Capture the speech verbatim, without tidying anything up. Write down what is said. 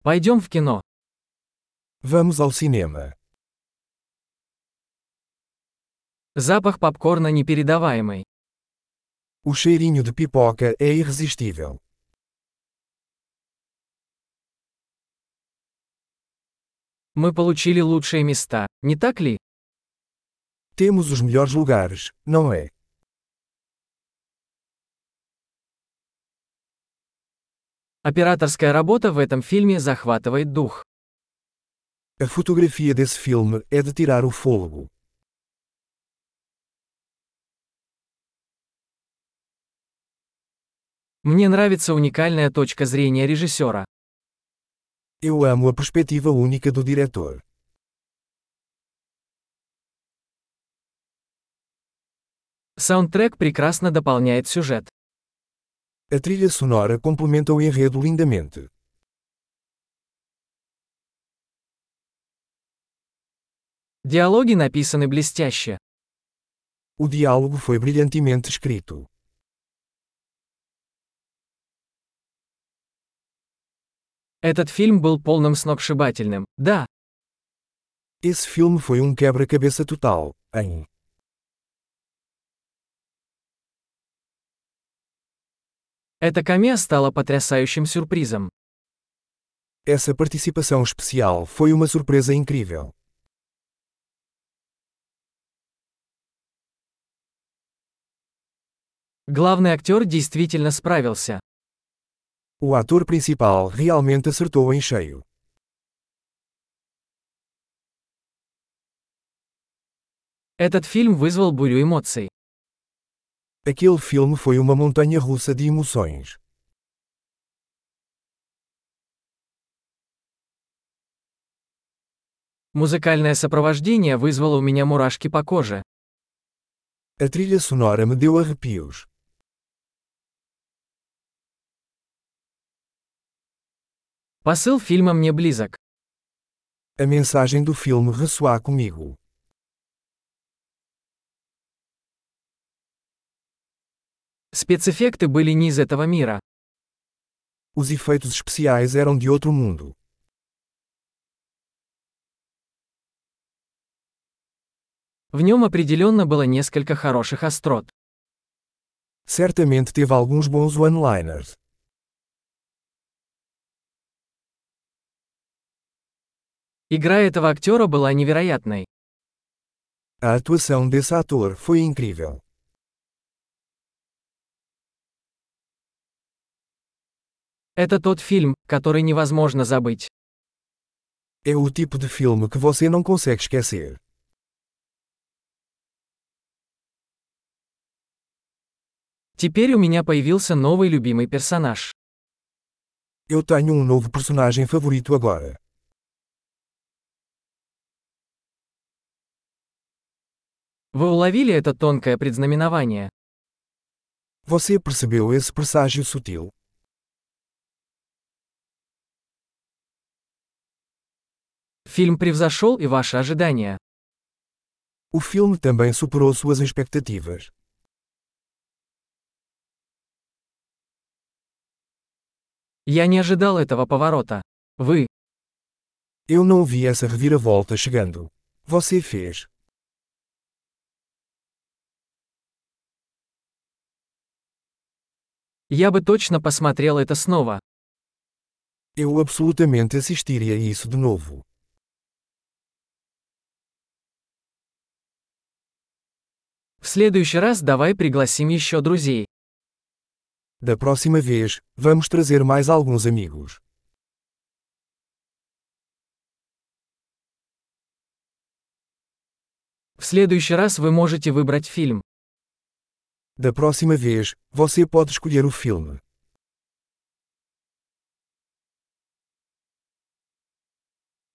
Пойдем в кино. Vamos ao cinema. Запах попкорна непередаваемый. O cheirinho de pipoca é irresistível. Мы получили лучшие места, не так ли? Temos os melhores lugares, não é? Операторская работа в этом фильме захватывает дух. A fotografia desse filme é de tirar o fôlego. Мне нравится уникальная точка зрения режиссера. Eu amo a perspectiva única do diretor. Саундтрек прекрасно дополняет сюжет. A trilha sonora complementa o enredo lindamente. Диалоги написаны блестяще. O diálogo foi brilhantemente escrito. Этот фильм был полным сногсшибательным, да. Esse filme foi um quebra-cabeça total, hein? Эта камео стала потрясающим сюрпризом. Essa participação especial foi uma surpresa incrível. Главный актер действительно справился. O ator principal realmente acertou em cheio. Этот фильм вызвал бурю эмоций. Aquele filme foi uma montanha russa de emoções. Музыкальное сопровождение вызвало у меня мурашки по коже. A trilha sonora me deu arrepios. Посыл фильма мне близок. A mensagem do filme ressoa comigo. Спецэффекты были не из этого мира. Os efeitos especiais eram de outro mundo. В нем определенно было несколько хороших острот. Certamente teve alguns bons one-liners. Игра этого актера была невероятной. A atuação desse ator foi incrível. Это тот фильм, который невозможно забыть. É o tipo de filme que você não consegue esquecer. Теперь у меня появился новый любимый персонаж. Eu tenho um novo personagem favorito agora. Вы уловили это тонкое предзнаменование? Você percebeu esse presságio sutil? Фильм превзошел и ваши ожидания. O filme também superou suas expectativas. Я не ожидал этого поворота. Вы. Eu não vi essa reviravolta chegando. Você fez. Я бы точно посмотрел это снова. Eu absolutamente assistiria isso de novo. В следующий раз давай пригласим еще друзей. Da próxima vez, vamos trazer mais alguns amigos. В следующий раз вы можете выбрать фильм. Da próxima vez, você pode escolher o filme.